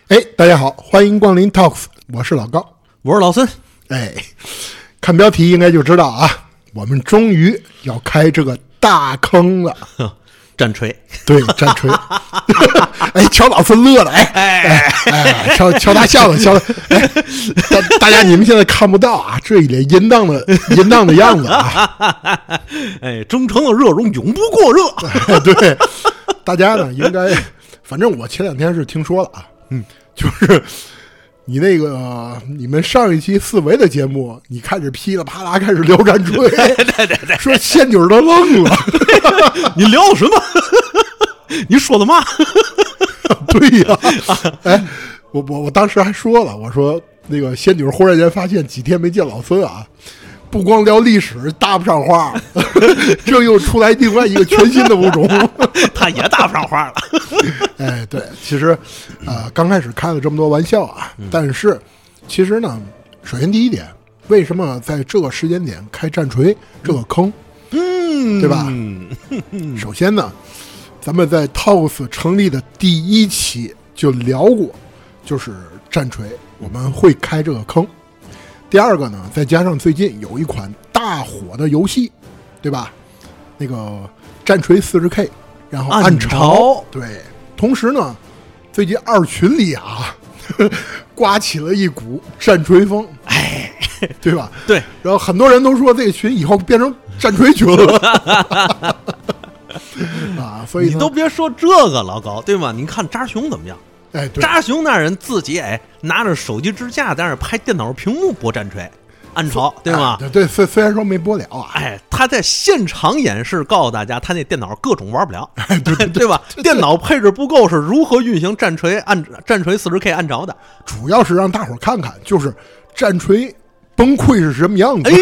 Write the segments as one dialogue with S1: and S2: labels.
S1: 大家好，欢迎光临 Talks， 我是老高，
S2: 我是老孙。
S1: 看标题应该就知道啊，我们终于要开这个大坑了。
S2: 战锤，
S1: 对，战锤。瞧老孙乐了，瞧他笑了，笑了。大家你们现在看不到啊，这一脸淫荡的样子啊。
S2: 忠诚的热熔永不过热。
S1: 对，大家呢应该，反正我前两天是听说了啊，就是你你们上一期四维的节目，你开始噼里啪啦开始聊战锤，
S2: 对，
S1: 说仙女都愣了。
S2: 你聊什么？你说的嘛？
S1: 对呀，我当时还说了，我说那个仙女忽然间发现几天没见老孙啊，不光聊历史搭不上话，这又出来另外一个全新的物种，
S2: 他也搭不上话了。
S1: 对，其实刚开始开了这么多玩笑啊，但是其实呢，首先第一点，为什么在这个时间点开战锤这个坑，对吧？首先呢，咱们在 Talks 成立的第一期就聊过，就是战锤我们会开这个坑。第二个呢，再加上最近有一款大火的游戏，对吧？那个战锤 40K， 然后暗潮，对。同时呢，最近二群里啊，刮起了一股战锤风，对吧？
S2: 对。
S1: 然后很多人都说这个群以后变成战锤群了。啊，所以
S2: 你都别说这个老高，对吗？你看扎熊怎么样？
S1: 对，
S2: 扎熊那人自己拿着手机支架在那拍电脑屏幕播战锤暗潮，对吗？
S1: 对，虽然说没播了啊，
S2: 他在现场演示告诉大家他那电脑各种玩不了，
S1: 对
S2: 吧？电脑配置不够是如何运行战锤 40K 暗潮的，
S1: 主要是让大伙看看，就是战锤崩溃是什么样子。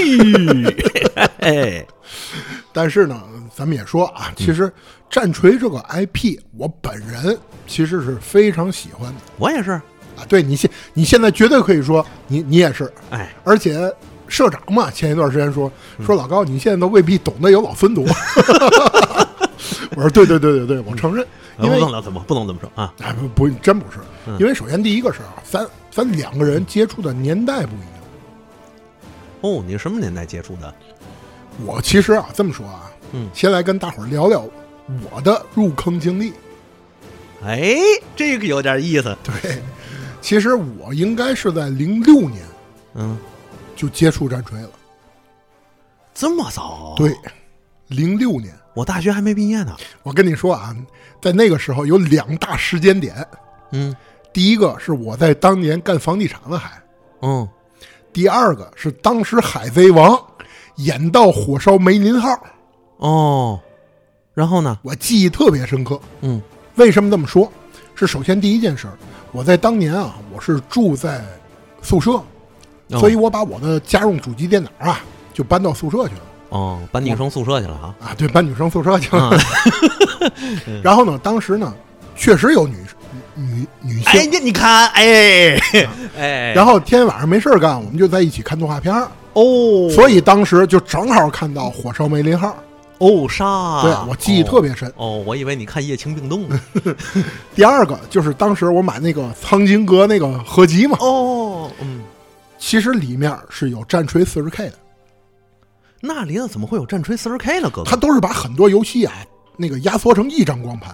S1: 但是呢，咱们也说啊，其实战锤这个 IP， 我本人其实是非常喜欢的。
S2: 我也是
S1: 啊，对你现在绝对可以说你也是，而且社长嘛，前一段时间说老高，你现在都未必懂得有老孙多。我说对，我承认，因为
S2: 不能这么说啊，
S1: 不真不是，因为首先第一个是咱两个人接触的年代不一样。
S2: 哦，你什么年代接触的？
S1: 我其实这么说啊，先来跟大伙儿聊聊我的入坑经历。
S2: 这个有点意思。
S1: 对，其实我应该是在06年，就接触战锤了。
S2: 这么早？
S1: 对，06年，
S2: 我大学还没毕业呢。
S1: 我跟你说啊，在那个时候有两大时间点。第一个是我在当年干房地产了还。第二个是当时海贼王演到火烧梅林号。
S2: 然后呢？
S1: 我记忆特别深刻。为什么这么说？是首先第一件事，我在当年啊，我是住在宿舍，所以我把我的家用主机电脑啊就搬到宿舍去了。
S2: 搬女生宿舍去了啊？
S1: 对，搬女生宿舍去了。然后呢，当时呢，确实有女性。
S2: 你看，
S1: 然后天天晚上没事干，我们就在一起看动画片。所以当时就正好看到火烧梅林号。
S2: 杀！
S1: 对，我记忆特别深。
S2: 我以为你看《夜情并动》呢。
S1: 第二个就是当时我买那个苍井阁那个合集嘛。其实里面是有战锤 40K 的。
S2: 那里头怎么会有战锤 40K 呢？哥哥，
S1: 他都是把很多游戏啊那个压缩成一张光盘。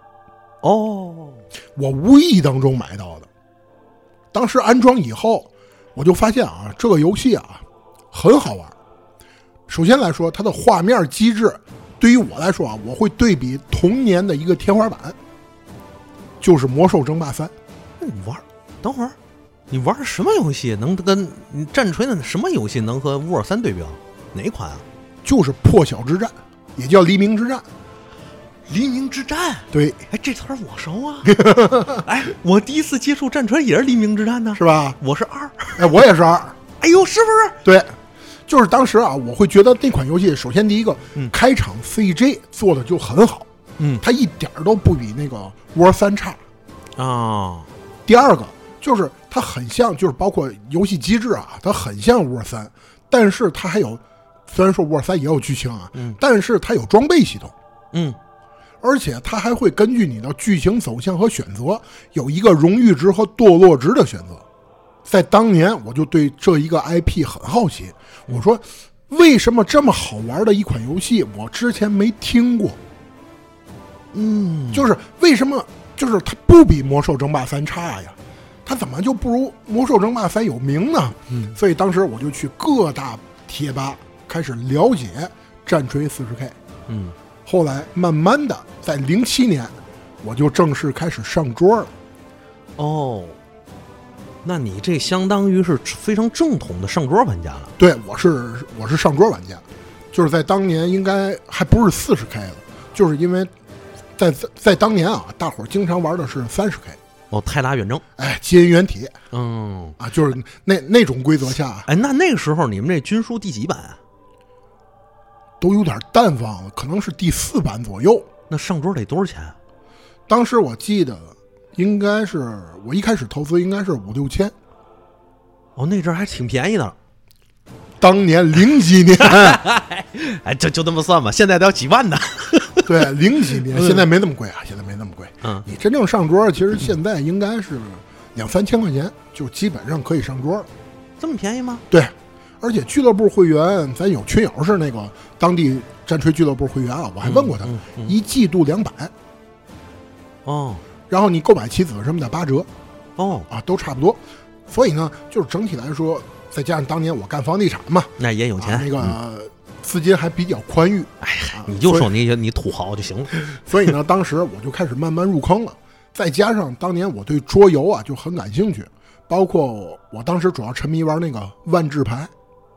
S1: 我无意当中买到的。当时安装以后，我就发现啊，这个游戏啊很好玩。首先来说，它的画面机制对于我来说啊，我会对比童年的一个天花板，就是《魔兽争霸3》。
S2: 等会儿，你玩什么游戏能跟战锤的什么游戏能和沃尔3对标？哪一款啊？
S1: 就是破晓之战，也叫黎明之战。
S2: 黎明之战，
S1: 对，
S2: 这词儿我熟啊。我第一次接触战锤也是黎明之战呢，
S1: 是吧？
S2: 我是2，
S1: 我也是2。
S2: 是不是？
S1: 对。就是当时啊，我会觉得那款游戏，首先第一个，开场 CG 做的就很好，它一点都不比那个 War 3差第二个就是它很像，就是包括游戏机制啊，它很像 War 3，但是它还有，虽然说 War 3也有剧情啊，但是它有装备系统， 而且它还会根据你的剧情走向和选择，有一个荣誉值和堕落值的选择。在当年，我就对这一个 IP 很好奇，我说为什么这么好玩的一款游戏，我之前没听过？就是为什么？就是它不比《魔兽争霸3》差呀？它怎么就不如《魔兽争霸3》有名呢？所以当时我就去各大贴吧开始了解战锤 40K。后来慢慢的，在07年，我就正式开始上桌了。
S2: 哦，那你这相当于是非常正统的上桌玩家了。
S1: 对，我是上桌玩家，就是在当年应该还不是40K 了，就是因为在当年啊，大伙儿经常玩的是30K。
S2: 哦，泰达远征，
S1: 哎，基因原体，就是那种规则下，
S2: 哎，那个时候你们这军书第几版啊？
S1: 都有点淡忘了，可能是第4版左右。
S2: 那上桌得多少钱啊？
S1: 当时我记得应该是我一开始投资应该是5、6千。
S2: 哦，那阵儿还挺便宜的。
S1: 当年0几年，
S2: 哎，就这么算吧，现在都要几万呢。
S1: 对，0几年，现在没那么贵啊，现在没那么贵。你真正上桌，其实现在应该是2、3千块钱，就基本上可以上桌了。
S2: 这么便宜吗？
S1: 对。而且俱乐部会员，咱有群友是那个当地战锤俱乐部会员啊，我还问过他，一季度200。
S2: 哦，
S1: 然后你购买棋子什么的8折。
S2: 哦，
S1: 都差不多。所以呢，就是整体来说，再加上当年我干房地产嘛，
S2: 那也有钱，
S1: 那个资金还比较宽裕。
S2: 哎呀，你就说你土豪就行了。
S1: 所以呢，当时我就开始慢慢入坑了。再加上当年我对桌游啊就很感兴趣，包括我当时主要沉迷玩那个万智牌。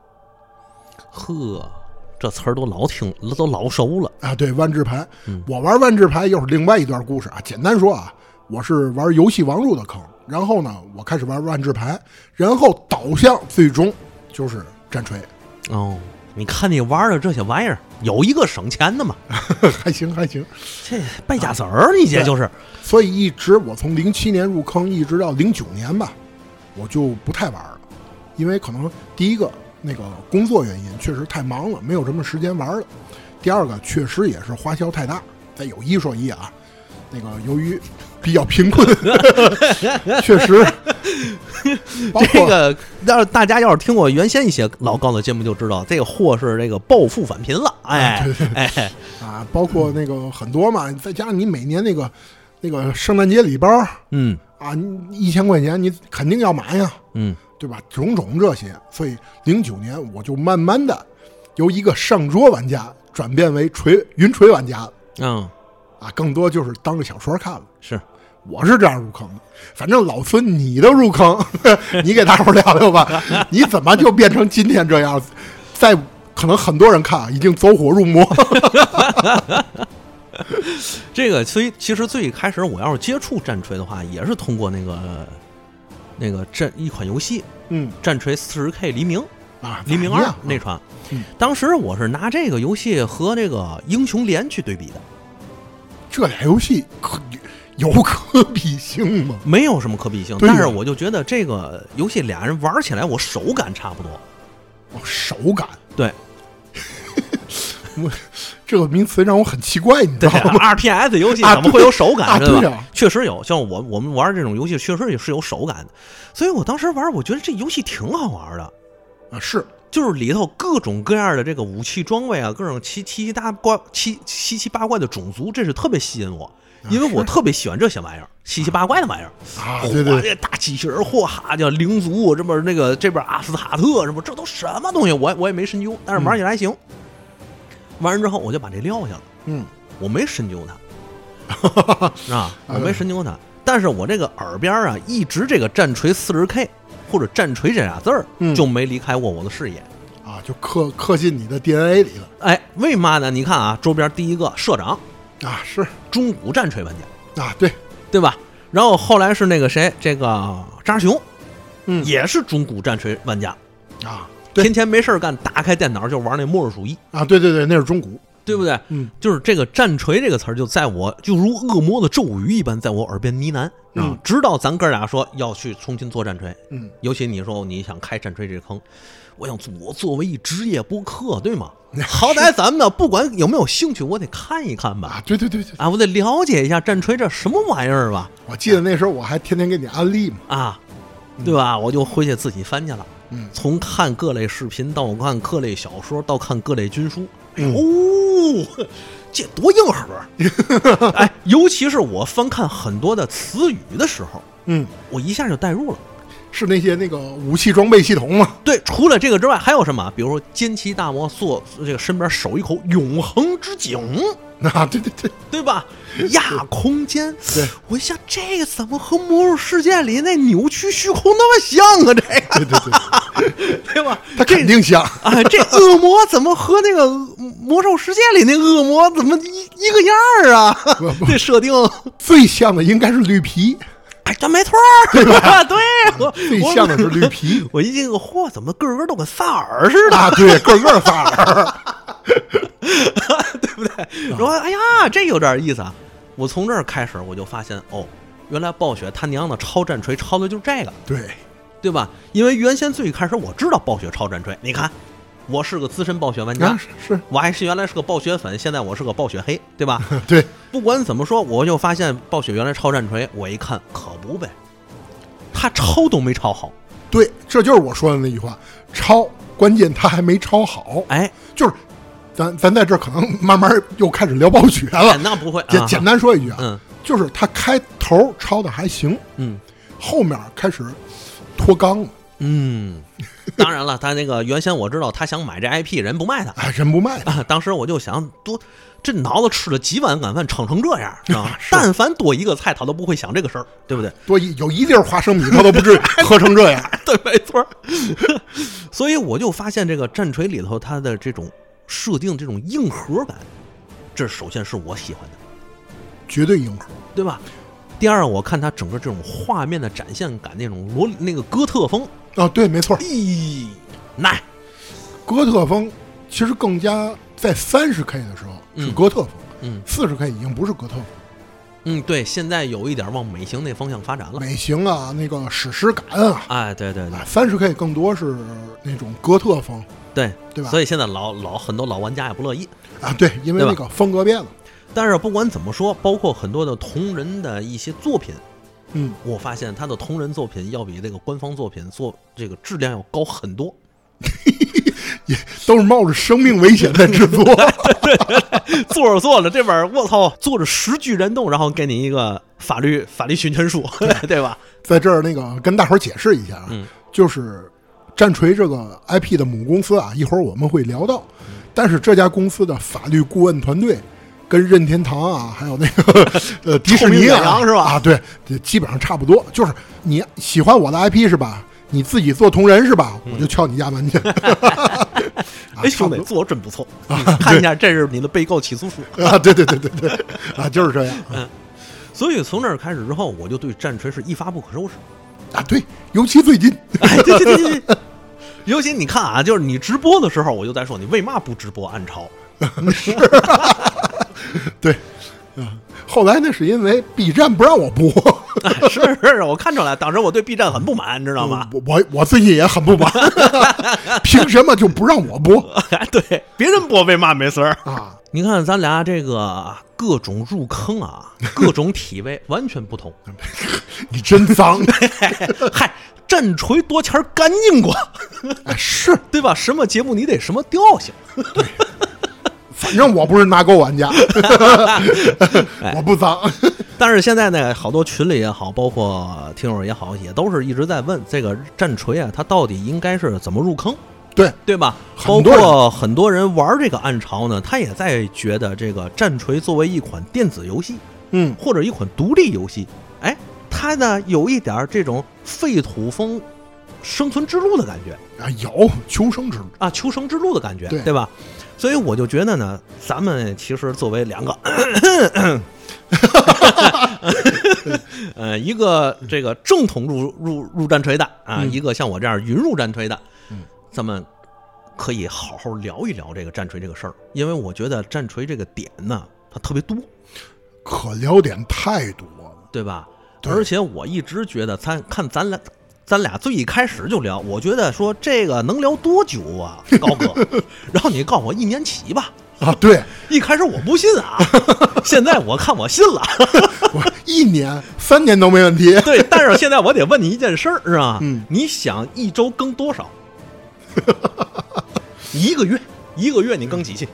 S2: 呵，这词儿都老熟了
S1: 啊！对，万智牌，我玩万智牌又是另外一段故事啊。简单说啊，我是玩游戏王入的坑，然后呢，我开始玩万智牌，然后导向最终就是战锤。
S2: 哦，你看你玩的这些玩意儿，有一个省钱的嘛？
S1: 还行，
S2: 这败家子儿，你这就是。
S1: 所以一直我从07年入坑，一直到09年吧，我就不太玩了，因为可能第一个。那个工作原因确实太忙了，没有什么时间玩了。第二个确实也是花销太大。再有一说一啊，那个由于比较贫困，确实。
S2: 这个大家要是听过原先一些老高的节目就知道，这个货是这个暴富返贫了。哎，
S1: 对
S2: 哎
S1: 啊，包括那个很多嘛，再加上你每年那个圣诞节礼包，啊，1000块钱你肯定要买呀，对吧？种种这些，所以09年我就慢慢的由一个上桌玩家转变为云锤玩家了。更多就是当个小说看了。
S2: 是，
S1: 我是这样入坑的。反正老孙你的入坑，你给大伙聊聊吧。你怎么就变成今天这样？在可能很多人看啊，已经走火入魔。
S2: 这个所以其实最开始我要是接触战锤的话，也是通过那个一款游戏，战锤 40K 黎明
S1: 啊，
S2: 黎明2那款，当时我是拿这个游戏和这个英雄联去对比的。
S1: 这俩游戏有可比性吗？
S2: 没有什么可比性，但是我就觉得这个游戏俩人玩起来，我手感差不多。
S1: 手感？
S2: 对。
S1: 这个名词让我很奇怪，你知道吗
S2: ？RTS 游戏怎么会有手感？
S1: 对吧？
S2: 确实有，像我们玩这种游戏，确实也是有手感的。所以我当时玩，我觉得这游戏挺好玩的
S1: 啊，是，
S2: 就是里头各种各样的这个武器装备啊，各种七七八怪的种族，这是特别吸引我，因为我特别喜欢这些玩意儿，七七八怪的玩意儿
S1: 啊，对对，
S2: 这大机器人，嚯哈叫灵族，这边那个这边阿斯塔特什么，这都什么东西？我也没深究，但是玩起来还行。完了之后我就把这撂下了，我没深究它，我没深究它，但是我这个耳边啊，一直这个战锤 40K 或者战锤这俩字儿，就没离开过我的视野
S1: 啊，就刻进你的 DNA 里了。
S2: 哎，为嘛呢？你看啊，周边第一个社长
S1: 啊是
S2: 中古战锤玩家
S1: 啊，
S2: 对吧？然后后来是那个谁，这个扎熊，也是中古战锤玩家
S1: 啊。
S2: 天天没事干，打开电脑就玩那末日主义
S1: 啊！对，那是中古
S2: 对不对？就是这个战锤这个词儿，就如恶魔的咒语一般，在我耳边呢喃啊。直到咱哥俩说要去重新做战锤，尤其你说你想开战锤这坑，我想我作为一职业播客，对吗？好歹咱们呢，不管有没有兴趣，我得看一看吧。
S1: 对
S2: 啊，我得了解一下战锤这什么玩意儿吧。
S1: 我记得那时候我还天天给你安利嘛，
S2: 啊，对吧？我就回去自己翻去了。从看各类视频到看各类小说，到看各类军书。这多硬核！哎，尤其是我翻看很多的词语的时候，我一下就带入了。
S1: 是那些那个武器装备系统吗？
S2: 对，除了这个之外，还有什么？比如说歼旗大魔这个身边守一口永恒之井
S1: 啊，
S2: 对吧？亚空间，
S1: 对，
S2: 我一想这个怎么和魔兽世界里那扭曲虚空那么像啊？这个，对吧？
S1: 他肯定像
S2: 啊！这恶魔怎么和那个魔兽世界里那恶魔怎么一个样啊？这设定
S1: 最像的应该是绿皮。
S2: 哎，这没错，
S1: 对吧？
S2: 对，
S1: 最像的是绿皮。
S2: 我一听，嚯，怎么个个都跟萨尔似的？
S1: 啊，对，个个萨尔，
S2: 对不对？说，哎呀，这有点意思啊！我从这儿开始，我就发现，哦，原来暴雪他娘的超战锤超的就是这个，对吧？因为原先最开始我知道暴雪超战锤，你看。我是个资深暴雪玩家，
S1: 是
S2: 我还是原来是个暴雪粉，现在我是个暴雪黑，对吧？
S1: 对，
S2: 不管怎么说，我就发现暴雪原来超战锤，我一看可不呗，他抄都没抄好。
S1: 对，这就是我说的那句话，抄，关键他还没抄好。
S2: 哎，
S1: 就是咱在这儿可能慢慢又开始聊暴雪了。
S2: 那不会，
S1: 简单说一句啊，就是他开头抄的还行，后面开始脱纲了。
S2: 当然了，他那个原先我知道他想买这 IP， 人不卖他，
S1: 人不卖他。
S2: 当时我就想，这脑子吃了几碗晚饭，撑成这样啊！但凡多一个菜，他都不会想这个事儿，对不对？
S1: 有一粒花生米，他都不至于喝成这样。
S2: 对，没错。所以我就发现这个战锤里头，它的这种设定，这种硬核感，这首先是我喜欢的，
S1: 绝对硬核，
S2: 对吧？第二，我看它整个这种画面的展现感，那个哥特风
S1: 啊，对，没错。
S2: 来，
S1: 哥特风其实更加在30K 的时候是哥特风，40K 已经不是哥特风。
S2: 对，现在有一点往美型那方向发展了。
S1: 美型啊，那个史诗感啊，
S2: 哎，对
S1: ，30K 更多是那种哥特风，
S2: 对
S1: 吧？
S2: 所以现在很多老玩家也不乐意
S1: 啊，对，因为那个风格变了。
S2: 但是不管怎么说，包括很多的同人的一些作品，我发现他的同人作品要比这个官方作品做这个质量要高很多，
S1: 也都是冒着生命危险在制作。
S2: 对，做着这本我操，做着10句燃动，然后给你一个法律侵权书，对吧？
S1: 在这儿那个跟大伙儿解释一下啊，就是战锤这个 IP 的母公司啊，一会儿我们会聊到，但是这家公司的法律顾问团队。跟任天堂啊，还有那个迪士尼啊，
S2: 是吧？
S1: 啊，对，基本上差不多。就是你喜欢我的 IP 是吧？你自己做同人是吧？我就敲你家门去。
S2: 哎，兄弟，做真不错，看一下，这是你的被告起诉书
S1: 啊！对，啊，就是这样。
S2: 所以从那儿开始之后，我就对战锤是一发不可收拾
S1: 啊！对，尤其最近，
S2: 对。尤其你看啊，就是你直播的时候，我就在说你为嘛不直播暗潮？
S1: 是。对，后来那是因为 B 站不让我播。
S2: 是，我看出来，当时我对 B 站很不满，你知道吗？
S1: 我最近也很不满，凭什么就不让我播？
S2: 对，别人播为嘛没事儿
S1: 啊？
S2: 你看咱俩这个各种入坑啊，各种体位完全不同。
S1: 你真脏！
S2: 嗨，战锤多钱干净过，
S1: 是
S2: 对吧？什么节目你得什么调性。
S1: 对。反正我不是拿钩玩家，我不脏。
S2: 但是现在呢，好多群里也好，包括听友也好，也都是一直在问这个战锤啊，它到底应该是怎么入坑？对吧？包括很多人玩这个暗潮呢，他也在觉得这个战锤作为一款电子游戏，或者一款独立游戏，哎，它呢有一点这种废土风生存之路的感觉
S1: 啊，有求生之路
S2: 啊，求生之路的感觉，对吧？所以我就觉得呢，咱们其实作为两个，一个这个正统入战锤的啊，一个像我这样云入战锤的，咱们可以好好聊一聊这个战锤这个事儿，因为我觉得战锤这个点呢，它特别多，
S1: 可聊点太多了，
S2: 对吧？而且我一直觉得，咱俩最一开始就聊，我觉得说这个能聊多久啊，高哥？然后你告诉我1年起吧。
S1: 啊，对，
S2: 一开始我不信啊，现在我看我信了。
S1: 我1年、3年都没问题。
S2: 对，但是现在我得问你一件事儿，是吧？你想一周更多少？一个月你更几期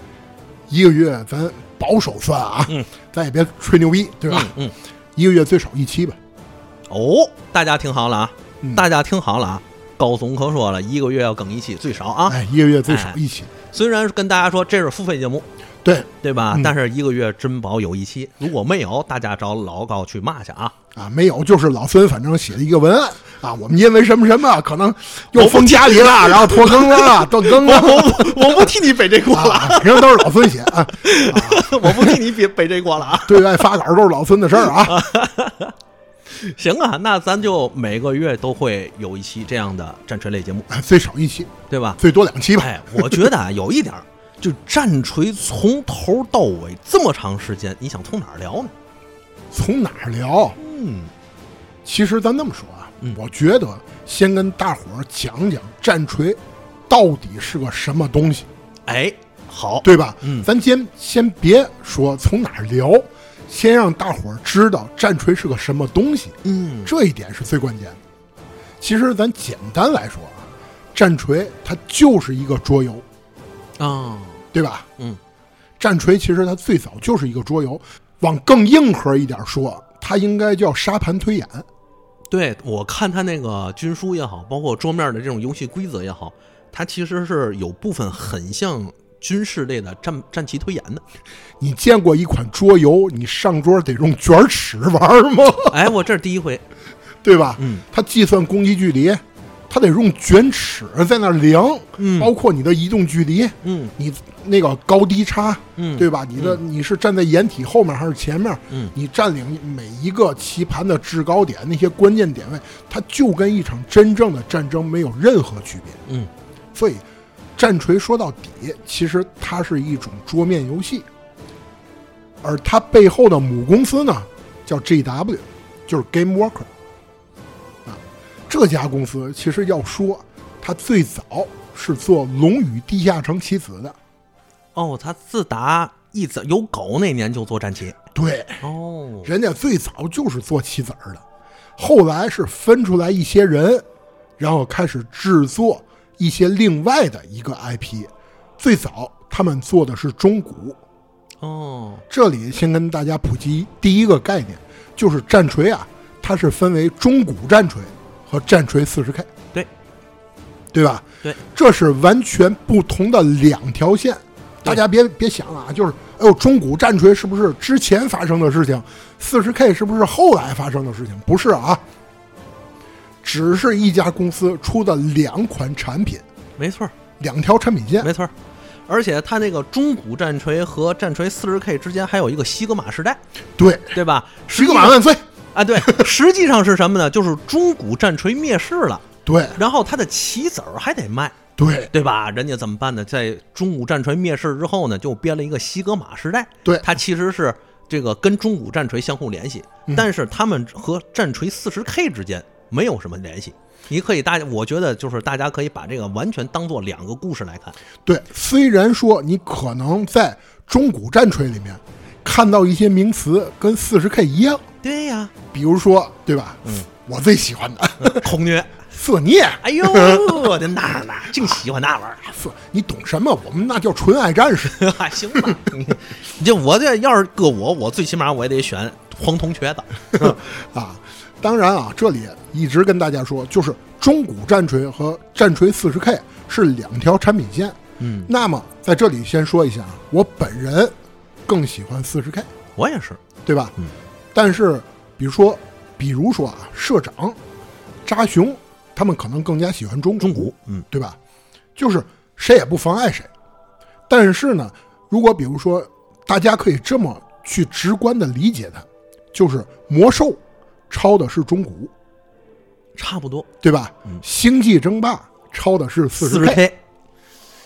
S1: ？1个月咱保守算啊，咱也别吹牛逼，对吧？1个月最少1期吧。
S2: 哦，大家听好了啊，大家听好了啊，高总可说了，1个月要更1期，最少啊。
S1: 1个月最少1期。
S2: 虽然跟大家说这是付费节目，对吧？但是1个月真保有1期，如果没有，大家找老高去骂去啊！
S1: 没有，就是老孙反正写了一个文案啊，我们因为什么什么可能又封家里了，然后拖更了，断更了。
S2: 我不替你背这锅了，
S1: 平时都是老孙写啊。
S2: 我不替你背这锅了啊。
S1: 对外发稿都是老孙的事儿啊。
S2: 行啊，那咱就每个月都会有1期这样的战锤类节目，
S1: 最少1期，
S2: 对吧？
S1: 最多2期吧。
S2: 我觉得有一点，就战锤从头到尾这么长时间，你想从哪儿聊呢？
S1: 从哪儿聊？其实咱这么说啊，我觉得先跟大伙儿讲讲战锤到底是个什么东西。
S2: 好，
S1: 对吧？咱先别说从哪儿聊。先让大伙儿知道战锤是个什么东西，这一点是最关键的。其实咱简单来说啊，战锤它就是一个桌游
S2: 啊，
S1: 对吧？战锤其实它最早就是一个桌游，往更硬核一点说，它应该叫沙盘推演。
S2: 对，我看它那个军书也好，包括桌面的这种游戏规则也好，它其实是有部分很像军事类的战棋推演的。
S1: 你见过一款桌游你上桌得用卷尺玩吗？
S2: 我这是第一回，
S1: 对吧？它计算攻击距离，它得用卷尺在那量，包括你的移动距离，你那个高低差，对吧？你是站在掩体后面还是前面？你占领每一个棋盘的制高点，那些关键点位，它就跟一场真正的战争没有任何区别。所以战锤说到底，其实它是一种桌面游戏。而它背后的母公司呢，叫 GW， 就是 Game Worker 啊。这家公司其实要说，它最早是做《龙与地下城》棋子的。
S2: 它自打有狗那年就做战棋。
S1: 对，人家最早就是做棋子的，后来是分出来一些人，然后开始制作一些另外的一个 IP。最早他们做的是中古。这里先跟大家普及第一个概念，就是战锤啊，它是分为中古战锤和战锤 40K， 对吧？
S2: 对，
S1: 这是完全不同的2条线。大家别想啊，就是中古战锤是不是之前发生的事情，40K 是不是后来发生的事情？不是啊，只是一家公司出的2款产品，
S2: 没错
S1: ，2条产品线，
S2: 没错。而且它那个中古战锤和战锤 40K 之间还有一个西格玛时代，对吧？
S1: 西格玛万岁
S2: 啊！对，实际上是什么呢？就是中古战锤灭世了，
S1: 对，
S2: 然后它的棋子儿还得卖，对吧？人家怎么办呢？在中古战锤灭世之后呢，就编了一个西格玛时代，
S1: 对，
S2: 它其实是这个跟中古战锤相互联系，但是他们和战锤 40K 之间没有什么联系。你可以我觉得就是大家可以把这个完全当做2个故事来看。
S1: 对，虽然说你可能在中古战锤里面看到一些名词跟 40K 一样，
S2: 对呀，
S1: 比如说，对吧？我最喜欢的
S2: 空虐、
S1: 色孽。
S2: 哎呦，我的那净喜欢那玩意儿。
S1: 你懂什么？我们那叫纯爱战士。
S2: 还行吧？你我这要是搁我最起码我也得选黄铜瘸子
S1: 啊。当然啊，这里一直跟大家说，就是中古战锤和战锤 40K 是2条产品线。那么在这里先说一下，我本人更喜欢 40K，
S2: 我也是，
S1: 对吧？但是比如说啊，社长扎熊他们可能更加喜欢中古，对吧？就是谁也不妨碍谁。但是呢，如果比如说大家可以这么去直观的理解它，就是魔兽抄的是中古，
S2: 差不多，
S1: 对吧？星际争霸抄的是 40K，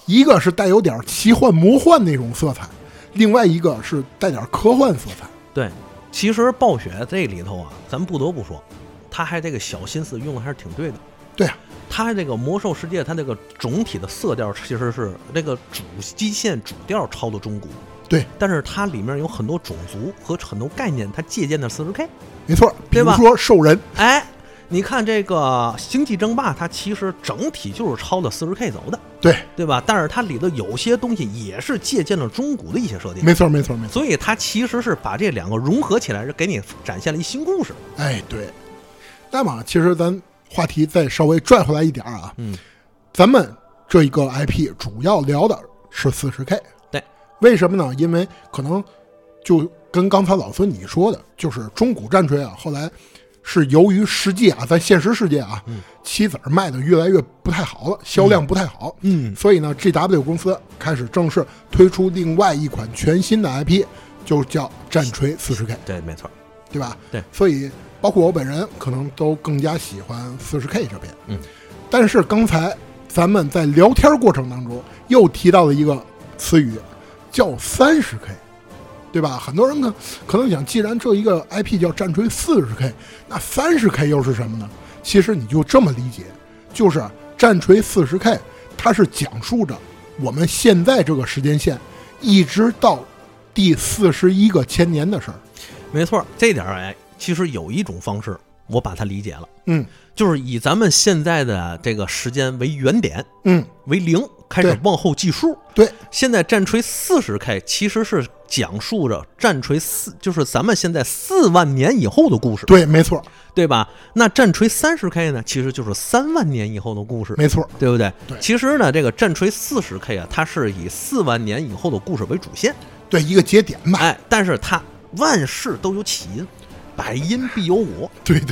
S1: 一个是带有点奇幻魔幻那种色彩，另外一个是带点科幻色彩。
S2: 对，其实暴雪这里头啊，咱不得不说，他还这个小心思用的还是挺对的。
S1: 对啊，
S2: 他这个魔兽世界，他这个总体的色调其实是这个基线主调抄的中古，
S1: 对，
S2: 但是它里面有很多种族和很多概念，它借鉴的 40K，
S1: 没错，比如说兽人，
S2: 哎，你看这个星际争霸，它其实整体就是抄的 40K 走的，
S1: 对
S2: 吧？但是它里头有些东西也是借鉴了中古的一些设定，
S1: 没错，
S2: 所以它其实是把这两个融合起来，给你展现了一新故事。
S1: 哎，对。那么其实咱话题再稍微拽回来一点啊，咱们这一个 IP 主要聊的是 40K，
S2: 对，
S1: 为什么呢？因为可能就跟刚才老孙你说的，就是中古战锤啊，后来是由于实际啊，在现实世界啊，棋子卖的越来越不太好了，销量不太好，所以呢 GW 公司开始正式推出另外一款全新的 IP， 就叫战锤 40K，
S2: 对，没错，
S1: 对吧？
S2: 对，
S1: 所以包括我本人可能都更加喜欢 40K 这边，但是刚才咱们在聊天过程当中又提到了一个词语，叫 30K， 对吧？很多人呢可能想，既然这一个 IP 叫战锤 40K， 那 30K 又是什么呢？其实你就这么理解，就是战锤 40K 它是讲述着我们现在这个时间线一直到第41个千年的事儿。没
S2: 错，这点哎，其实有一种方式我把它理解了，
S1: 就
S2: 是以咱们现在的这个时间为原点，为0开始往后计数。
S1: 对，
S2: 现在战锤 40K 其实是讲述着战锤就是咱们现在4万年以后的故事。
S1: 对，没错，
S2: 对吧？那战锤 30K 呢，其实就是3万年以后的故事。
S1: 没错，
S2: 对不对？
S1: 对，
S2: 其实呢，这个战锤 40K 啊，它是以4万年以后的故事为主线，
S1: 对，一个节点吧。
S2: 哎，但是它万事都有起因，百因必有果。
S1: 对，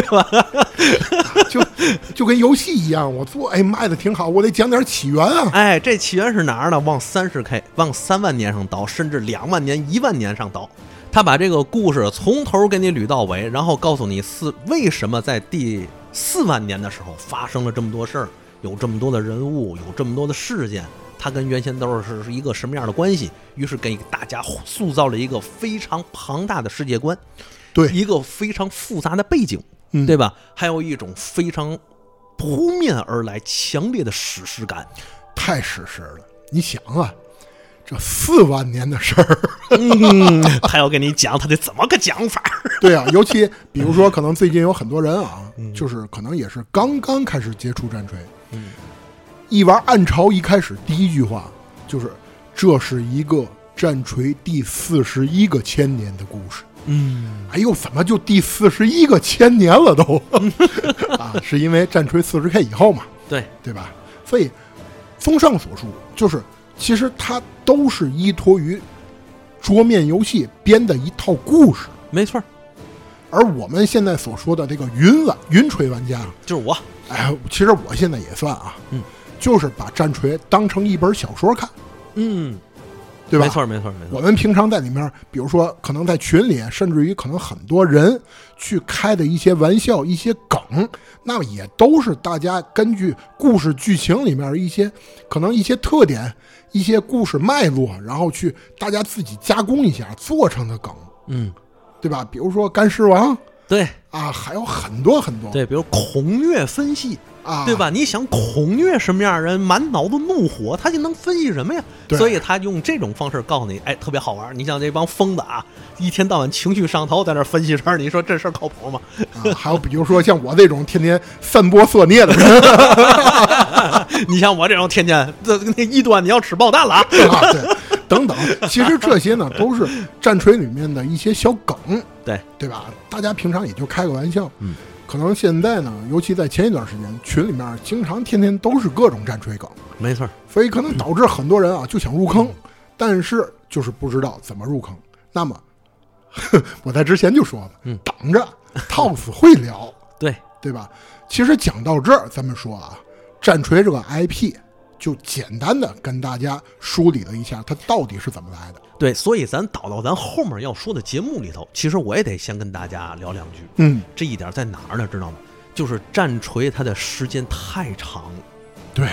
S1: 就跟游戏一样，我做卖的挺好，我得讲点起源啊。
S2: 哎，这起源是哪儿呢？往 30K， 往3万年上倒，甚至2万年、1万年上倒。他把这个故事从头给你捋到尾，然后告诉你为什么在第4万年的时候发生了这么多事儿，有这么多的人物，有这么多的事件，它跟原先都是一个什么样的关系？于是给大家塑造了一个非常庞大的世界观，
S1: 对，
S2: 一个非常复杂的背景，对吧？还有一种非常扑面而来强烈的史诗感，
S1: 太史诗了。你想啊，这4万年的事儿，
S2: 他要跟你讲，他得怎么个讲法？
S1: 对啊，尤其比如说，可能最近有很多人啊，就是可能也是刚刚开始接触战锤，一玩暗潮一开始第一句话就是这是一个战锤第41个千年的故事。哎呦，怎么就第41个千年了都？啊，是因为战锤 40K 以后嘛，对吧？所以综上所述，就是其实它都是依托于桌面游戏编的一套故事，
S2: 没错。
S1: 而我们现在所说的这个云锤玩家，
S2: 就是我。
S1: 哎，其实我现在也算啊，就是把战锤当成一本小说看，对吧？
S2: 没错。
S1: 我们平常在里面，比如说可能在群里，甚至于可能很多人去开的一些玩笑、一些梗，那也都是大家根据故事剧情里面一些可能一些特点、一些故事脉络，然后去大家自己加工一下做成的梗，对吧？比如说干尸王，
S2: 对
S1: 啊，还有很多很多，
S2: 对，比如孔虐分析。
S1: 啊，
S2: 对吧？你想孔虐什么样人，满脑子怒火，他就能分析什么呀？所以他用这种方式告诉你，哎，特别好玩。你像这帮疯子啊，一天到晚情绪上头，在那分析事儿，你说这事儿靠谱吗？
S1: 还有比如说像我这种天天散播色孽的人，
S2: 你像我这种天天那一端你要吃爆弹了啊，
S1: 对，等等。其实这些呢，都是战锤里面的一些小梗，对吧？大家平常也就开个玩笑，可能现在呢，尤其在前一段时间，群里面经常天天都是各种战锤梗，
S2: 没错，
S1: 所以可能导致很多人啊就想入坑，但是就是不知道怎么入坑。那么我在之前就说了，等着套死会聊，对吧？其实讲到这儿，咱们说啊，战锤这个 IP 就简单的跟大家梳理了一下它到底是怎么来的。
S2: 对，所以咱导到咱后面要说的节目里头，其实我也得先跟大家聊两句。这一点在哪儿呢？知道吗？就是战锤它的时间太长了。
S1: 对，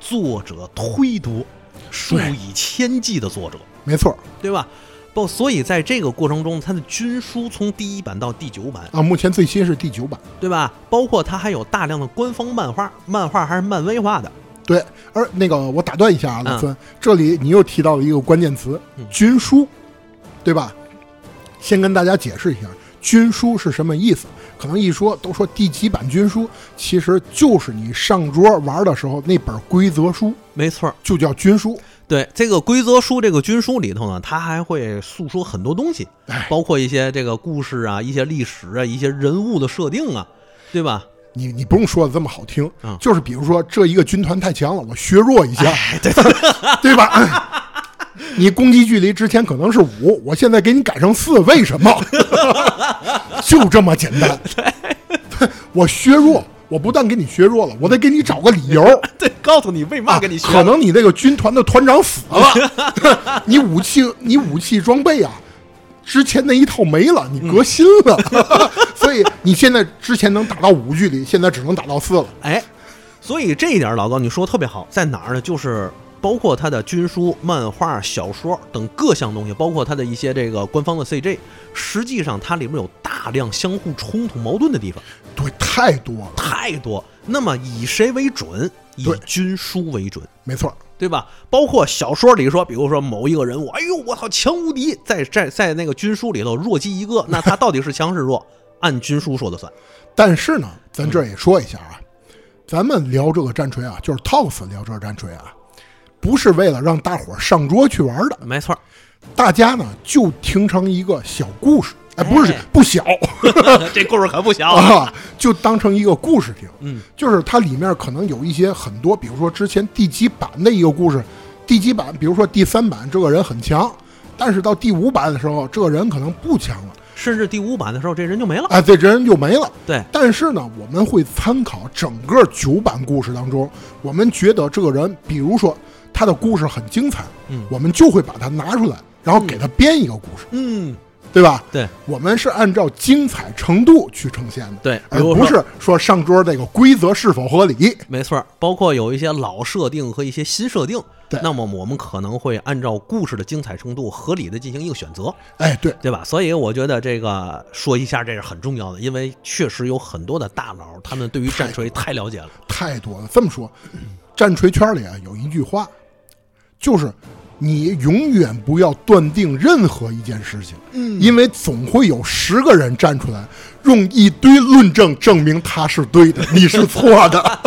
S2: 作者忒多，数以千计的作者，
S1: 没错，
S2: 对吧？所以在这个过程中，它的军书从第1版到第9版
S1: 啊，目前最新是第9版，
S2: 对吧？包括它还有大量的官方漫画还是漫威画的。
S1: 对，而那个我打断一下啊，老孙，这里你又提到了一个关键词，军书，对吧？先跟大家解释一下，军书是什么意思？可能一说都说第几版军书，其实就是你上桌玩的时候那本规则书，
S2: 没错，
S1: 就叫军书。
S2: 对，这个规则书，这个军书里头呢，它还会诉说很多东西，包括一些这个故事啊，一些历史啊，一些人物的设定啊，对吧？
S1: 你不用说的这么好听，就是比如说这一个军团太强了，我削弱一下，对吧？你攻击距离之前可能是5，我现在给你改成4，为什么？就这么简单。我削弱，我不但给你削弱了，我得给你找个理由，
S2: 对，告诉你为嘛给你削。
S1: 可能你这个军团的团长死了，你武器装备啊，之前那一套没了，你革新了，所以你现在之前能打到5距离，现在只能打到4了。
S2: 哎，所以这一点老高你说的特别好，在哪儿呢？就是包括它的军书、漫画、小说等各项东西，包括它的一些这个官方的 CG， 实际上它里面有大量相互冲突矛盾的地方。
S1: 对，太多了，
S2: 太多。那么以谁为准？以军书为准，
S1: 没错，
S2: 对吧？包括小说里说，比如说某一个人物，哎呦我操，强无敌，在那个军书里头弱鸡一个，那他到底是强是弱？按军书说的算。
S1: 但是呢，咱这也说一下啊，咱们聊这个战锤啊，就是 Tox 聊这个战锤啊，不是为了让大伙上桌去玩的，
S2: 没错。
S1: 大家呢就听成一个小故事，哎，不小，
S2: 这故事可不小
S1: 啊，就当成一个故事听。就是它里面可能有一些很多，比如说之前第几版的一个故事，第几版，比如说第3版这个人很强，但是到第5版的时候，这个人可能不强了，
S2: 甚至第5版的时候，这人就没了。
S1: 哎，这人就没了。
S2: 对，
S1: 但是呢，我们会参考整个9版故事当中，我们觉得这个人，比如说他的故事很精彩，我们就会把它拿出来，然后给他编一个故事。对吧？
S2: 对，
S1: 我们是按照精彩程度去呈现的，
S2: 对，
S1: 而不是说上桌这个规则是否合理。
S2: 没错，包括有一些老设定和一些新设定，
S1: 对，
S2: 那么我们可能会按照故事的精彩程度合理的进行一个选择。
S1: 哎，
S2: 对吧？所以我觉得这个说一下这是很重要的，因为确实有很多的大佬，他们对于战锤太了解了，
S1: 太多了。这么说，战锤圈里啊有一句话，就是你永远不要断定任何一件事情，因为总会有10个人站出来，用一堆论证证明他是对的，你是错的。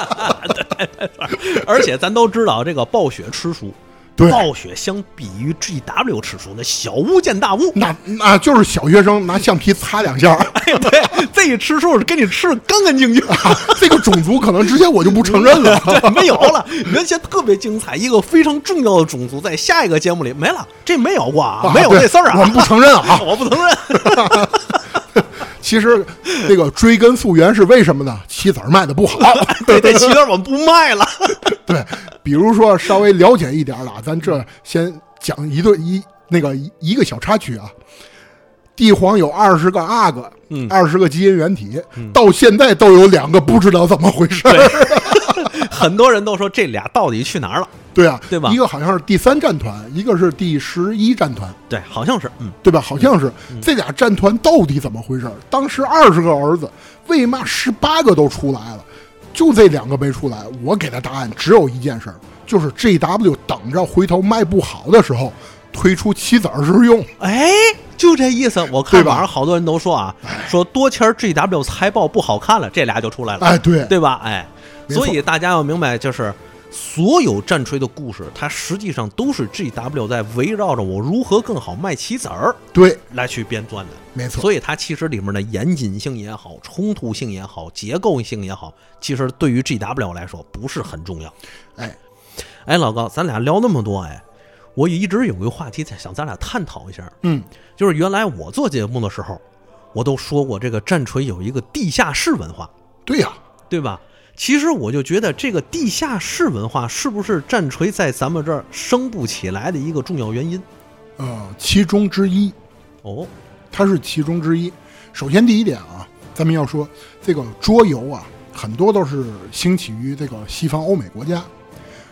S2: 而且咱都知道，这个暴雪吃书，
S1: 对，
S2: 暴雪相比于 GW 吃书，那小巫见大巫，
S1: 那就是小学生拿橡皮擦2下。
S2: 哎，对，这一吃书是给你吃的干干净净。
S1: 这个种族可能之前我就不承认了，
S2: 对，没有了。原先特别精彩，一个非常重要的种族，在下一个节目里没了，这没有过啊，没有这事儿啊，
S1: 我们不承认啊，
S2: 我不承认。
S1: 其实这个追根溯源是为什么呢？棋子卖的不好，
S2: 对，这棋子我们不卖了。
S1: 对，比如说稍微了解一点的，咱这先讲一个小插曲啊。帝皇有20个阿哥，20个基因原体，到现在都有2个不知道怎么回事。
S2: 很多人都说这俩到底去哪儿了？
S1: 对啊，
S2: 对吧？
S1: 一个好像是第3战团，一个是第11战团，
S2: 对，好像是，
S1: 对吧？好像是这俩战团到底怎么回事？当时20个儿子，为嘛18个都出来了，就这2个没出来？我给的答案只有一件事，就是 GW 等着回头卖不好的时候推出棋子时用。
S2: 哎，就这意思。我看网上好多人都说啊，说多钱 GW 财报不好看了，这俩就出来了。
S1: 哎，对
S2: 吧？哎，所以大家要明白，就是所有战锤的故事，它实际上都是 GW 在围绕着我如何更好卖棋子儿，
S1: 对，
S2: 来去编撰的。
S1: 没错。
S2: 所以它其实里面的严谨性也好，冲突性也好，结构性也好，其实对于 GW 来说不是很重要。哎，老高，咱俩聊那么多，我一直有一个话题想咱俩探讨一下，就是原来我做节目的时候，我都说过这个战锤有一个地下室文化。
S1: 对呀，
S2: 对吧？其实我就觉得这个地下室文化是不是战锤在咱们这儿升不起来的一个重要原因？
S1: 其中之一。
S2: 哦，
S1: 它是其中之一。首先第一点啊，咱们要说这个桌游啊，很多都是兴起于这个西方欧美国家。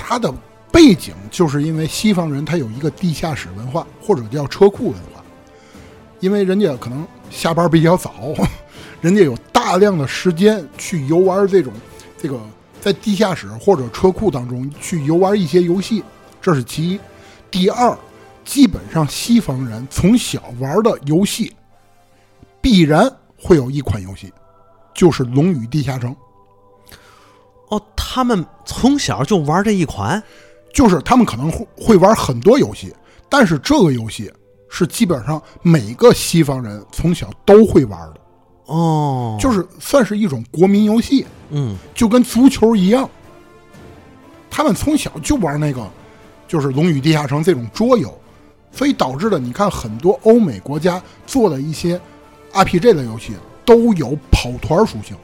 S1: 它的背景就是因为西方人他有一个地下室文化，或者叫车库文化，因为人家可能下班比较早，人家有大量的时间去游玩这个在地下室或者车库当中去游玩一些游戏，这是其一。第二，基本上西方人从小玩的游戏必然会有一款游戏，就是《龙与地下城》。
S2: 哦，他们从小就玩这一款？
S1: 就是他们可能会玩很多游戏，但是这个游戏是基本上每个西方人从小都会玩的。
S2: 哦，
S1: 就是算是一种国民游戏。就跟足球一样，他们从小就玩那个就是《龙与地下城》这种桌游，所以导致了你看很多欧美国家做的一些 RPG 的游戏都有跑团属性。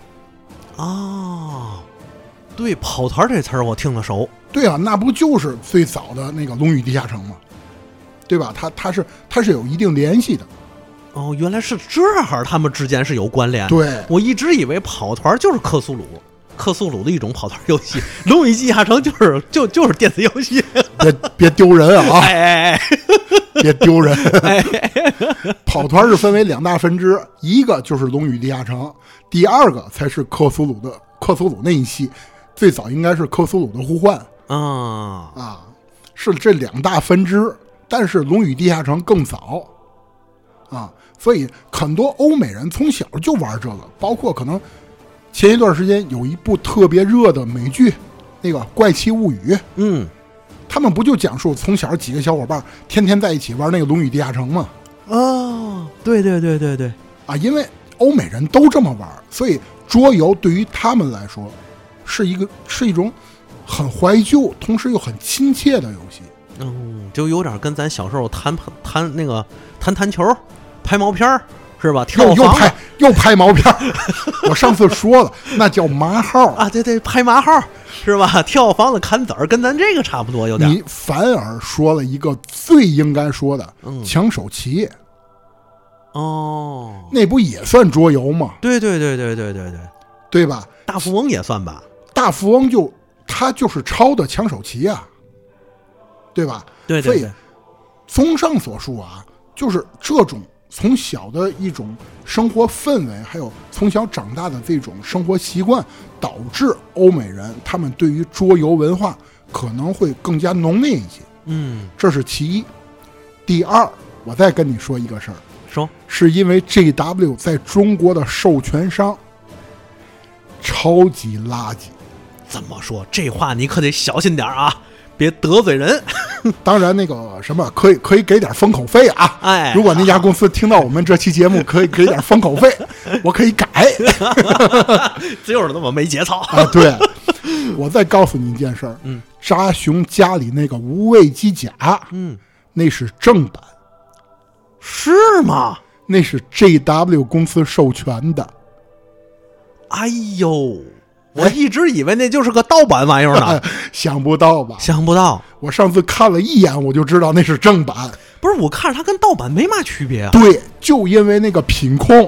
S2: 对，跑团这词儿我听了熟。
S1: 对啊，那不就是最早的那个《龙与地下城》吗？对吧？它是有一定联系的。
S2: 哦，原来是这样，他们之间是有关联。
S1: 对，
S2: 我一直以为跑团就是克苏鲁的一种跑团游戏，《龙与地下城》就是电子游戏。
S1: 别丢人啊！
S2: 哎，
S1: 别丢人！跑团是分为两大分支，一个就是《龙与地下城》，第二个才是克苏鲁那一系，最早应该是克苏鲁的呼唤。是这两大分支，但是《龙与地下城》更早。所以很多欧美人从小就玩这个，包括可能前一段时间有一部特别热的美剧，那个《怪奇物语》。他们不就讲述从小几个小伙伴天天在一起玩那个《龙与地下城》吗？
S2: 对。
S1: 因为欧美人都这么玩，所以桌游对于他们来说是一种很怀旧，同时又很亲切的游戏。
S2: 就有点跟咱小时候弹球。拍毛片是吧？
S1: 又拍毛片我上次说了，那叫麻号
S2: 啊！对，拍麻号是吧？跳房子砍子儿，跟咱这个差不多，有点。
S1: 你反而说了一个最应该说的，抢手棋。那不也算桌游吗？
S2: 对，
S1: 对吧？
S2: 大富翁也算吧？
S1: 大富翁他就是抄的抢手棋啊，对吧？
S2: 对。
S1: 所以综上所述啊，就是这种从小的一种生活氛围，还有从小长大的这种生活习惯，导致欧美人他们对于桌游文化可能会更加浓烈一些。这是其一。第二，我再跟你说一个事儿，是因为 JW 在中国的授权商超级垃圾。
S2: 怎么说？这话你可得小心点啊，别得罪人。
S1: 当然那个什么可以给点封口费啊！如果那家公司听到我们这期节目，可以给点封口费，我可以改。
S2: 就是那么没节操
S1: 对，我再告诉你一件事儿，扎熊家里那个无畏机甲，那是正版。
S2: 是吗？
S1: 那是 JW 公司授权的。
S2: 哎呦！我一直以为那就是个盗版玩意儿呢。
S1: 想不到吧？
S2: 想不到。
S1: 我上次看了一眼，我就知道那是正版。
S2: 不是，我看着它跟盗版没嘛区别啊。
S1: 对，就因为那个品控，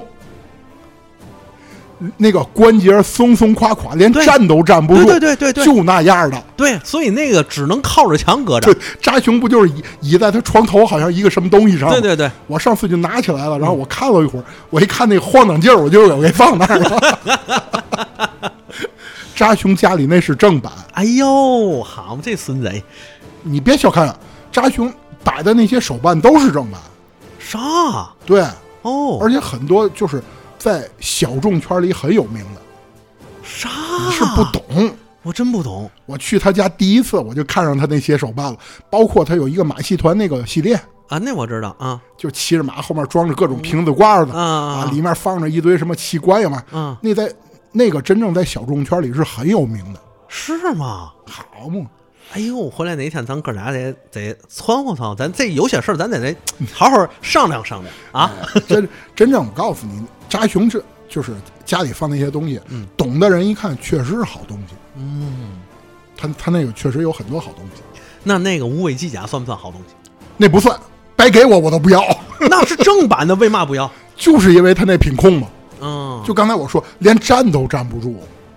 S1: 那个关节松松垮垮，连站都站不住。
S2: 对，
S1: 就那样的。
S2: 对，所以那个只能靠着墙搁着。
S1: 对，扎熊不就是倚在他床头，好像一个什么东西上？
S2: 对。
S1: 我上次就拿起来了，然后我看了一会儿，我一看那个晃荡劲儿，我就给放那儿了。扎熊家里那是正版。
S2: 哎呦，好嘛，这孙子！
S1: 你别小看扎熊摆的那些手办都是正版。
S2: 啥？
S1: 对。而且很多就是在小众圈里很有名的。
S2: 啥？
S1: 你是不懂？
S2: 我真不懂。
S1: 我去他家第一次，我就看上他那些手办了，包括他有一个马戏团那个系列
S2: 啊，那我知道啊，
S1: 就骑着马，后面装着各种瓶子罐子里面放着一堆什么器官呀嘛。那个真正在小众圈里是很有名的。
S2: 是吗？
S1: 好嘛！
S2: 哎呦，回来哪天咱哥俩得窜乎咱这有些事儿咱得好好商量商量啊！
S1: 真正我告诉你，扎熊就是家里放那些东西，懂的人一看确实是好东西。他那个确实有很多好东西。
S2: 那个无畏机甲算不算好东西？
S1: 那不算，白给我都不要。
S2: 那是正版的，为嘛不要？
S1: 就是因为他那品控嘛。就刚才我说，连站都站不住。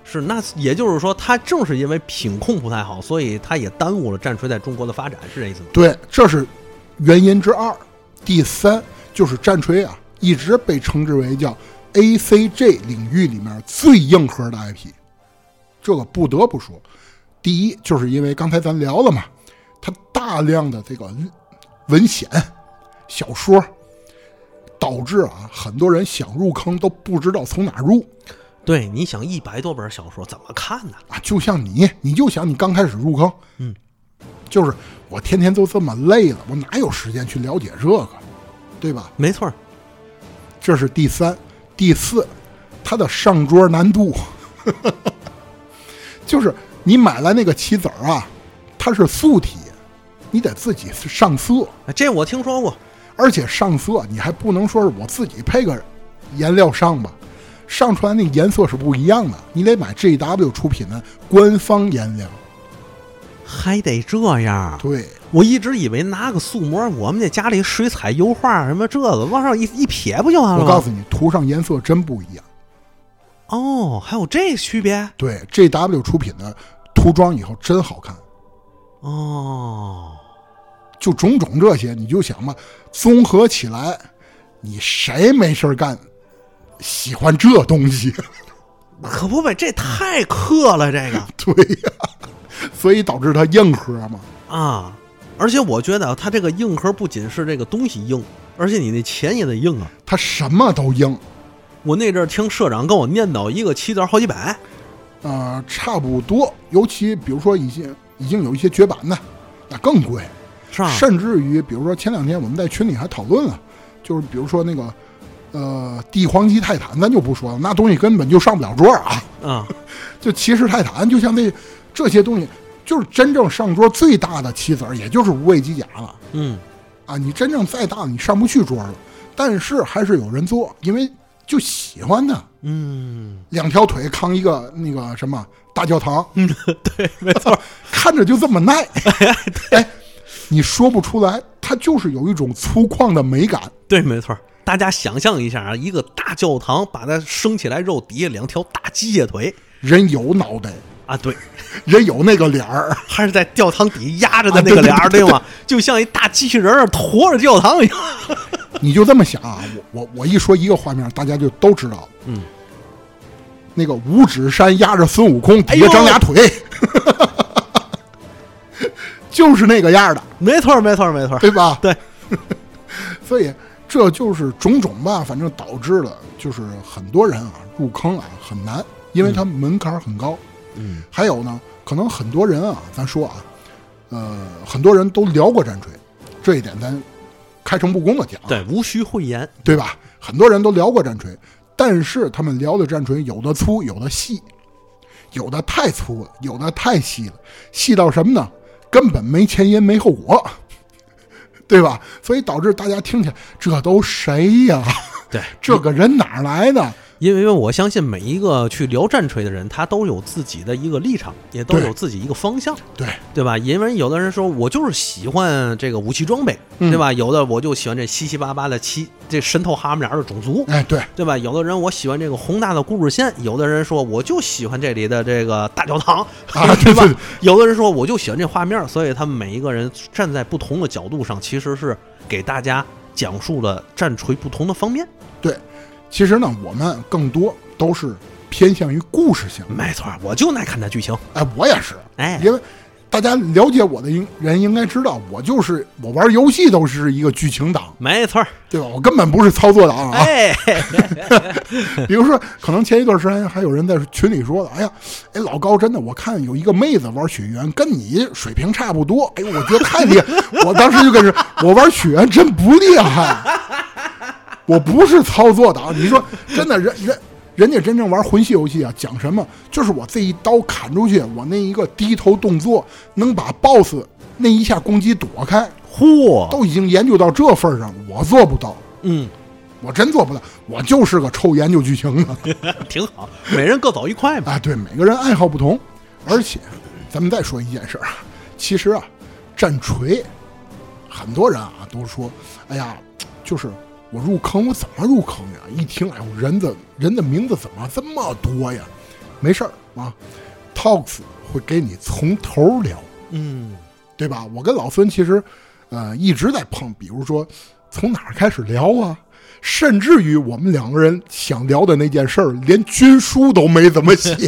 S2: 是，那也就是说，它正是因为品控不太好，所以它也耽误了战锤在中国的发展，是这意思吗？
S1: 对，这是原因之二。第三就是战锤啊，一直被称之为叫 ACG 领域里面最硬核的 IP。这个不得不说，第一就是因为刚才咱聊了嘛，它大量的这个文献、小说，导致啊很多人想入坑都不知道从哪入。
S2: 对，你想100多本小说怎么看呢？
S1: 啊，就像你就想你刚开始入坑，就是我天天都这么累了，我哪有时间去了解这个，对吧？
S2: 没错，
S1: 这是第三。第四，它的上桌难度，就是你买来那个棋子啊，它是素体，你得自己上色。
S2: 这我听说过，
S1: 而且上色你还不能说是我自己配个颜料上吧，上出来那颜色是不一样的，你得买 GW 出品的官方颜料。
S2: 还得这样？
S1: 对，
S2: 我一直以为拿个素膜，我们这家里水彩油画什么这个往上一撇不就完了吗？
S1: 我告诉你，涂上颜色真不一样。
S2: 哦，还有这区别？
S1: 对 ，GW 出品的涂装以后真好看。
S2: 哦，
S1: 就种种这些，你就想吧，综合起来，你谁没事干喜欢这东西？
S2: 可不呗，这太克了，这个。
S1: 对呀，所以导致它硬核嘛。
S2: 啊，而且我觉得它这个硬核不仅是这个东西硬，而且你那钱也得硬啊。
S1: 它什么都硬。
S2: 我那阵儿听社长跟我念叨，一个棋子好几百。
S1: 差不多，尤其比如说已经有一些绝版的，那更贵，
S2: 是吧？
S1: 甚至于比如说前2天我们在群里还讨论了，就是比如说那个帝皇级泰坦，咱就不说了，那东西根本就上不了桌啊。就骑士泰坦，就像这些东西，就是真正上桌最大的棋子，也就是无畏机甲了。你真正再大，你上不去桌了。但是还是有人做，因为就喜欢它。2条腿扛一个那个什么大教堂。
S2: 对，没错，
S1: 看着就这么耐。你说不出来，它就是有一种粗犷的美感。
S2: 对，没错。大家想象一下啊，一个大教堂，把它升起来之后，底下2条大机械腿，
S1: 人有脑袋
S2: 啊，对，
S1: 人有那个脸儿，
S2: 还是在教堂底压着的那个脸儿，对吗？就像一大机器人儿驮着教堂一样。
S1: 你就这么想啊，我一说一个画面，大家就都知道。那个五指山压着孙悟空，底下长俩腿。就是那个样的。
S2: 没错，没错，没错，
S1: 对吧？
S2: 对。
S1: 所以这就是种种吧，反正导致了就是很多人啊入坑啊很难，因为它门槛很高。还有呢，可能很多人啊，咱说啊，很多人都聊过战锤，这一点咱开诚布公的讲，
S2: 对，无需讳言，
S1: 对吧？很多人都聊过战锤，但是他们聊的战锤有的粗，有的细，有的太粗了，有的太细了，细到什么呢？根本没前因没后果，对吧？所以导致大家听起来，这都谁呀？
S2: 对，
S1: 这个人哪儿来的？
S2: 因为我相信每一个去聊战锤的人，他都有自己的一个立场，也都有自己一个方向，对吧？因为有的人说我就是喜欢这个武器装备，对吧？有的我就喜欢这七七八八的这神偷哈姆脸的种族，对吧？有的人我喜欢这个宏大的故事线，有的人说我就喜欢这里的这个大教堂，对吧？有的人说我就喜欢这画面，所以他们每一个人站在不同的角度上，其实是给大家讲述了战锤不同的方面。
S1: 对。其实呢，我们更多都是偏向于故事性。
S2: 没错，我就爱看它剧情。
S1: 我也是。因为大家了解我的人应该知道，我玩游戏都是一个剧情党。
S2: 没错，
S1: 对吧？我根本不是操作党啊。比如说，可能前一段时间还有人在群里说的，老高真的，我看有一个妹子玩雪原，跟你水平差不多。我觉得太厉害。我当时就跟着，我玩雪原真不厉害。我不是操作党，你说真的，人家真正玩魂系游戏啊，讲什么？就是我这一刀砍出去，我那一个低头动作能把 BOSS 那一下攻击躲开，都已经研究到这份上，我做不到。我真做不到，我就是个臭研究剧情的。
S2: 挺好，每人各走一块嘛。
S1: 对，每个人爱好不同。而且，咱们再说一件事啊，其实啊，战锤，很多人啊都说，就是。我入坑，我怎么入坑呀？一听，人的名字怎么这么多呀？没事儿， 啊 ，Talks 会给你从头聊，对吧？我跟老孙其实一直在碰，比如说从哪儿开始聊啊，甚至于我们两个人想聊的那件事儿，连军书都没怎么写，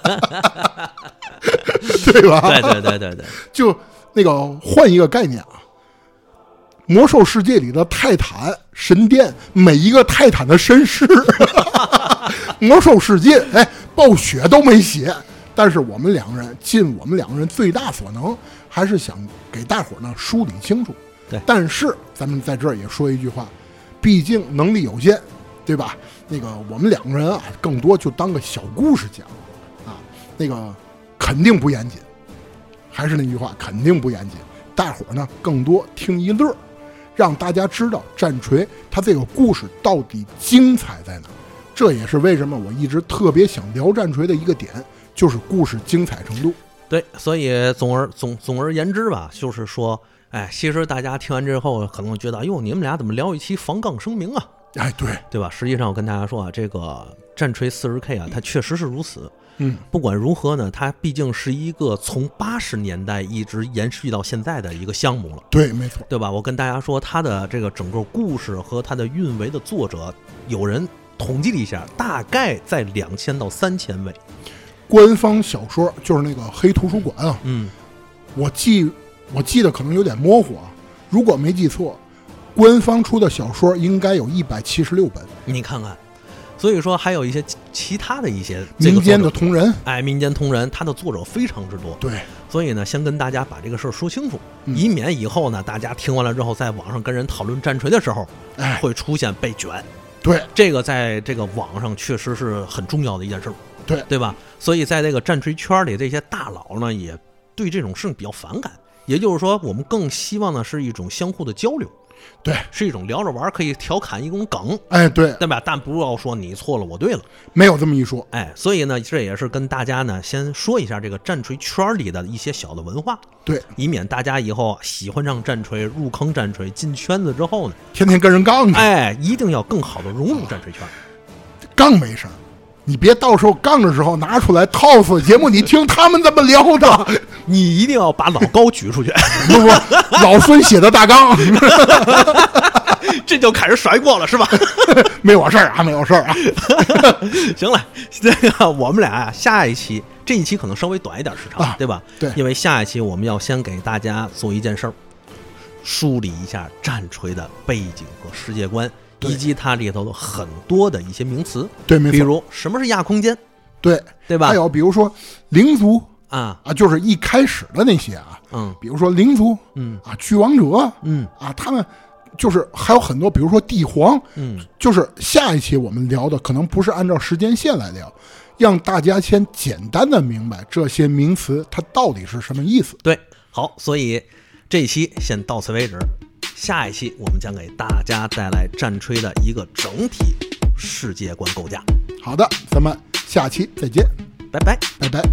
S1: 对吧？
S2: 对，
S1: 就那个换一个概念啊，魔兽世界里的泰坦神殿，每一个泰坦的身世，魔兽世界暴雪都没写，但是我们两个人尽我们两个人最大所能，还是想给大伙呢梳理清楚。
S2: 对，
S1: 但是咱们在这儿也说一句话，毕竟能力有限，对吧？那个我们两个人啊，更多就当个小故事讲啊，那个肯定不严谨。还是那句话，肯定不严谨。大伙呢更多听一乐，让大家知道战锤它这个故事到底精彩在哪。这也是为什么我一直特别想聊战锤的一个点，就是故事精彩程度。
S2: 对，所以总而言之吧，就是说，其实大家听完之后可能觉得，哟，你们俩怎么聊一期防杠声明啊？对吧？实际上我跟大家说啊，这个战锤 40K 啊，它确实是如此。不管如何呢，它毕竟是一个从80年代一直延续到现在的一个项目了。
S1: 对，没错，
S2: 对吧？我跟大家说，它的这个整个故事和它的运维的作者，有人统计了一下，大概在2000到3000位。
S1: 官方小说就是那个黑图书馆啊，我记得可能有点模糊啊，如果没记错，官方出的小说应该有176本。
S2: 你看看。所以说还有一些其他的一些
S1: 民间的同人，
S2: 民间同人，他的作者非常之多。
S1: 对，
S2: 所以呢，先跟大家把这个事儿说清楚，以免以后呢，大家听完了之后，在网上跟人讨论战锤的时候，会出现被卷。
S1: 对，
S2: 这个在这个网上确实是很重要的一件事儿，对吧？所以在这个战锤圈里，这些大佬呢，也对这种事情比较反感。也就是说，我们更希望呢是一种相互的交流。
S1: 对，
S2: 是一种聊着玩，可以调侃一种梗，对吧？但不要说你错了，我对了，
S1: 没有这么一说，
S2: 所以呢，这也是跟大家呢先说一下这个战锤圈里的一些小的文化，
S1: 对，
S2: 以免大家以后喜欢上战锤，入坑战锤，进圈子之后呢，
S1: 天天跟人杠，
S2: 一定要更好的融入战锤圈。
S1: 杠没事，你别到时候杠的时候拿出来套死节目，你听他们怎么聊的。
S2: 你一定要把老高举出去，
S1: 不，老孙写的大纲，
S2: 这就开始甩锅了是吧？
S1: 没有事儿啊，没有事儿啊。
S2: 行了，这个我们俩下一期，这一期可能稍微短一点时长，对吧？
S1: 对，
S2: 因为下一期我们要先给大家做一件事儿，梳理一下战锤的背景和世界观，以及它里头的很多的一些名词。
S1: 对，没错。
S2: 比如什么是亚空间？对吧？
S1: 还有比如说灵族。就是一开始的那些啊，比如说灵族，巨王者，他们就是还有很多，比如说帝皇，就是下一期我们聊的可能不是按照时间线来聊，让大家先简单的明白这些名词它到底是什么意思。
S2: 对，好，所以这一期先到此为止，下一期我们将给大家带来战锤的一个整体世界观构架。
S1: 好的，咱们下期再见，
S2: 拜拜，
S1: 拜拜。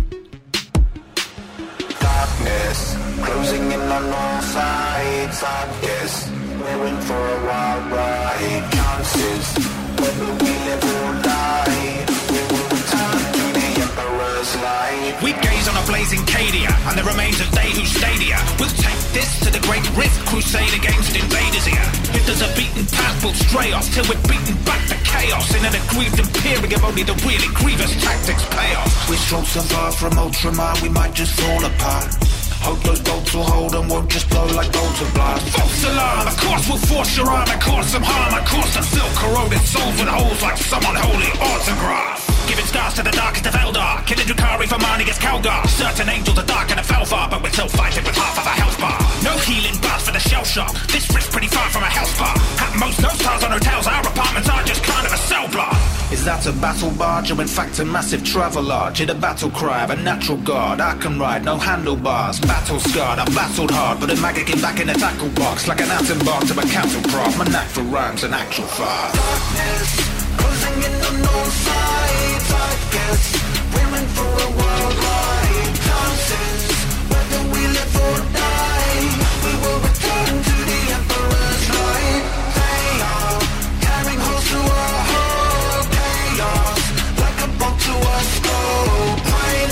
S3: Darkness, closing in on all sides. I guess we're in for a wild ride. Chances, whether we live or die, we will return to the Emperor's light.
S4: We gaze on a blazing Cadia and the remains of they who stayed here. We'll take this to the great rift, crusade against invaders here. If there's a beaten path, we'll stray off till we're beaten back to chaos. In an aggrieved imperium, only the really grievous tactics pay off.
S3: We stroll so far from Ultramar, we might just fall apart. Hope those bolts will hold and won't just blow like bolts of blast.
S4: False alarm, of course we'll force your arm and cause some harm. Of course the silk corroded souls with holes like some unholy autograph. Giving stars to the darkest of Eldar, killing Drukhari for mine against Kalgar. Certain angels are dark and a fell far, but we're still fighting with half of a health bar. No healing bars for the shell shock, this rift's pretty far from a health bar. At most, no stars on hotels, our apartments are just kind of a cell block.
S3: Is that a battle barge or in fact a massive travelage? In a battle cry of a natural god, I can ride, no handlebars. Battle scarred, I battled hard, but a maggot came back in a tackle box like an atom bomb to a council craft. My knack for rhymes an actual fire. Darkness, closing in on all sides. I guess we're in for a wild ride. Chances, whether we live or die, we will return to the Emperor's light. They are carrying holes through our whole chaos, like a bolt to our skull.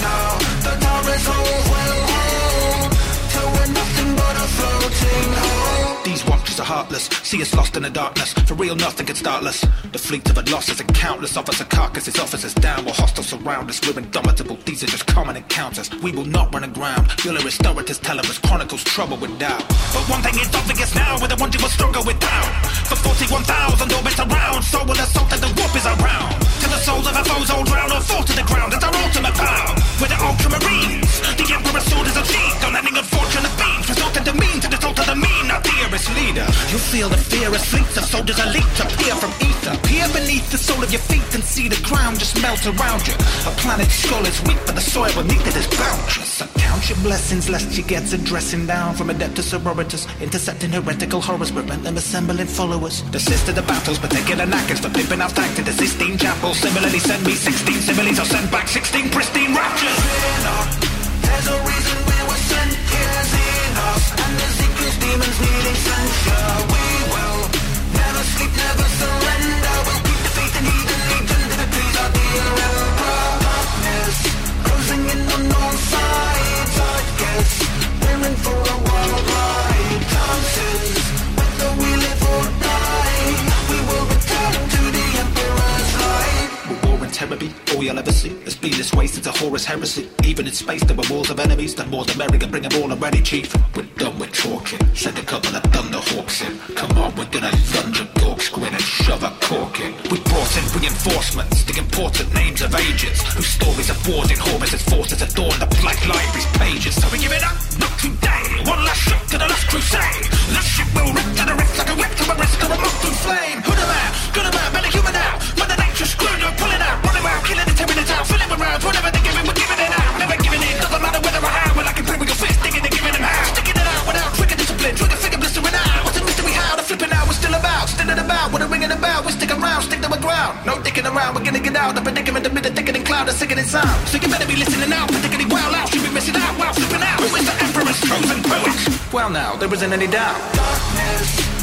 S3: heartless. See us lost in the darkness. For real, nothing can start us. The fleet of our losses and countless officer carcasses, officers down while hostiles surround us. We're indomitable. These are just common encounters. We will not run aground. Bueller historians tell us chronicles trouble with doubt.
S4: But one thing is obvious now, with the one you will struggle without. For 41,000 orbits around, so will assault and the warp is around. Till the souls of our foes all drown or fall to the ground. It's our ultimate power. We're the ultramarines. The Emperor's sword is achieved on any unfortunate beings, resulting to mean to the salt of the mean, our dearest leader.
S3: You'll feel the fear as fleets of soldiers elite appear from ether. Peer beneath the sole of your feet and see the ground just melt around you. A planet's skull is weak, but the soil beneath it is bounteous. So count your blessings lest you get a dressing down from Adeptus Sororitas, intercepting heretical horrors, prevent them assembling followers. Desist to the battles, particular knackers for pimping our tank to the Sistine Chapel. Similarly, send me 16 similes, I'll send back 16 pristine raptures.
S4: Fear not, there's a reason we were sent here. Xenos and the Zekus demons needing censure. We will never sleep, never surrender. We'll keep the faith in heathen legion to please our dear Emperor. Darkness closing in on all sides. I guess we're in for a worldwide chances. Whether we live or die, we will return to the Emperor's light.
S3: War and terror be all you'll ever see. It's been this way since a Horus heresy. Even in space there were wars of enemies. The more the merrier, bring them all already, chief. We're done with talking. Send a couple of thunderhawks in. Come on, we're gonna lunge a dork's grin and shove a cork in. We brought in reinforcements, the important names of agents, whose stories of wars in Horus's forces adorn the Black Library's pages.
S4: So we give it up, not today. One last shot to the last crusade. This ship will rip to the rift like a whip to a wrist or a moth through flame. Who the man? Good a man, better human now. Mother Nature screwed, you're pulling out. Running around, killing and tearing it out. Filling with rounds, whatever they're giving, we're giving it out. Never giving in, doesn't matter whether or how. We're like a prick with your fist, digging and giving them how. Sticking it out without trigger discipline. Trigger finger blistering out. What's a mystery how? The flipping out, we're still about. Still in about, with a ringing about. We stick around, stick to the ground. No dicking around, we're gonna get out. The predicament amid the thickening cloud, the sickening sound. So you better be listening out, particularly well out. Should be missing out while slipping out. Who is the Emperor's chosen poet?
S3: Well now, there isn't any doubt.
S4: Darkness